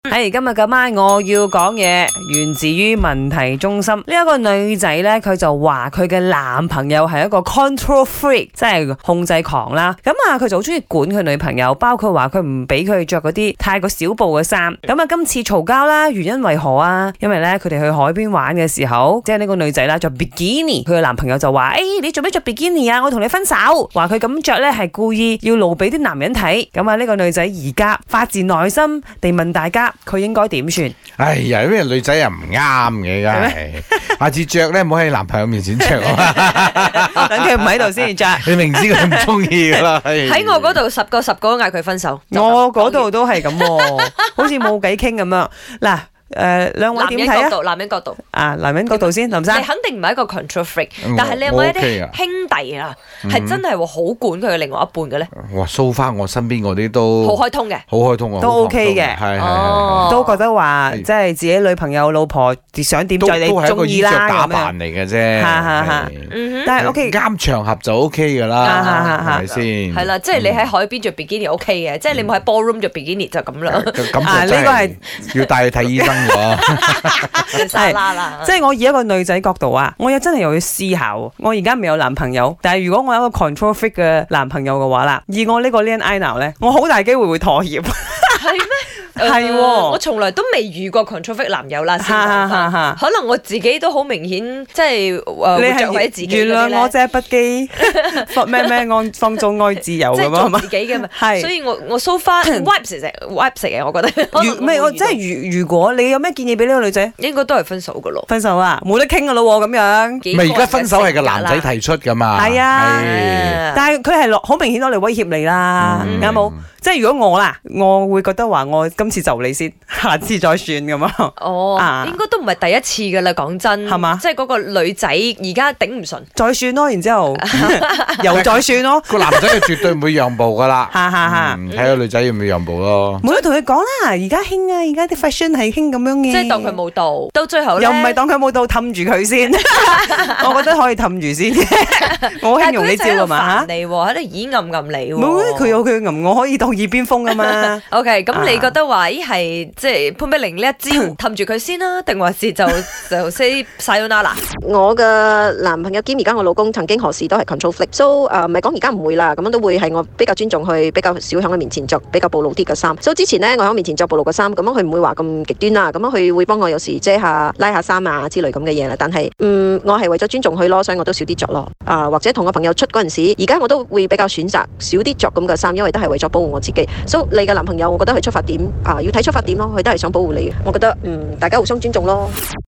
喺今日嘅晚我要講嘢，源自於問題中心。呢一個女仔呢，佢就話佢嘅男朋友係一個 control freak， 即係控制狂啦。咁啊，佢就好中意管佢女朋友，包括話佢唔俾佢着嗰啲太過小布嘅衫。咁啊，今次嘈交啦，原因為何啊？因為呢，佢哋去海邊玩嘅時候，即係呢個女仔啦着 bikini， 佢嘅男朋友就話：你做咩着 bikini 啊？我同你分手。話佢咁着呢係故意要露俾啲男人睇。咁啊，呢個女仔而家發自內心地問大家，佢應該點算？ 哎呀，呢個女仔又唔啱嘅，梗係下次着咧唔好喺男朋友面前着啊！ 等佢唔喺度先着。 你明知佢唔中意噶啦。 喺我嗰度10個都嗌佢分手。 我嗰度都係咁，好似冇偈傾咁樣。嗱。兩位點睇啊？ 男人角度啊，男人角度先，林生。 你肯定唔係一個 control freak，但係你有冇一啲兄弟啊，係真係好管佢嘅另外一半嘅咧？ 哇，so far我身邊嗰啲都好開通嘅， 好開通啊， 都 OK 嘅， 係都覺得話即係自己女朋友、老婆想點就你中意啦， 打扮嚟嘅啫。 但係 OK 啱場合就 OK 噶啦，係咪先？係啦，即係你喺海邊着 bikini OK 嘅，即係你冇喺 ballroom 着 bikini 就咁啦。 啊，呢個係要帶去睇醫生。 即係我以一個女仔角度啊，我又真係又要思考。我而家未有男朋友，但係如果我有一個 control freak 嘅男朋友嘅話啦，以我呢個 Leon Ina 咧，我好大機會會妥協。 係咩？係我從來都未遇過 control freak 男友啦。可能我自己都好明顯，即係會着喺自己。 原諒我這不羈，放縱愛自由咁啊嘛。 自己嘅嘛，所以我 so far wipe 食嘅，我覺得。 我即係如果你有咩建議俾呢個女仔？ 應該都係分手噶咯。 分手啊，冇得傾噶咯咁樣。 唔係而家分手係個男仔提出噶嘛？ 係啊，但係佢係好明顯攞嚟威脅你啦，啱冇？即係如果我啦，我會覺得話我今次就你先，下次再算咁啊。 哦，應該都唔係第一次噶啦，講真係嘛？即係嗰個女仔而家頂唔順，再算咯，然之後又再算咯。 個男仔係絕對唔會讓步噶啦。睇個女仔要唔要讓步咯？ 冇得同佢講啦，而家興啊，而家啲 fashion 係興咁樣嘅。 即係當佢冇到，到最後又唔係當佢冇到，氹住佢先。我覺得可以氹住先。我好興用呢招㗎嘛嚇。 你喺度耳暗暗你喎。 冇，佢有佢暗，我可以當耳邊風㗎嘛。 OK，咁你覺得話咦係即係潘碧玲呢一招氹住佢先啦，定還是就 say sayonara？ 我嘅男朋友兼而家我老公曾經何時都係 control freak，so 唔係講而家唔會啦，咁樣都會係我比較尊重佢，比較少喺佢面前着比較暴露啲嘅衫。so 之前呢，我喺面前着暴露嘅衫，咁樣佢唔會話咁極端啦，咁樣佢會幫我有時遮下拉下衫啊之類咁嘅嘢啦。但係我係為咗尊重佢咯，所以我都少啲着咯。或者同我朋友出嗰陣時，而家我都會比較選擇少啲着咁嘅衫，因為都係為咗保護我自己。so 你嘅男朋友，我覺得佢出發點要睇出發點咯，佢都係想保護你。我覺得大家互相尊重咯。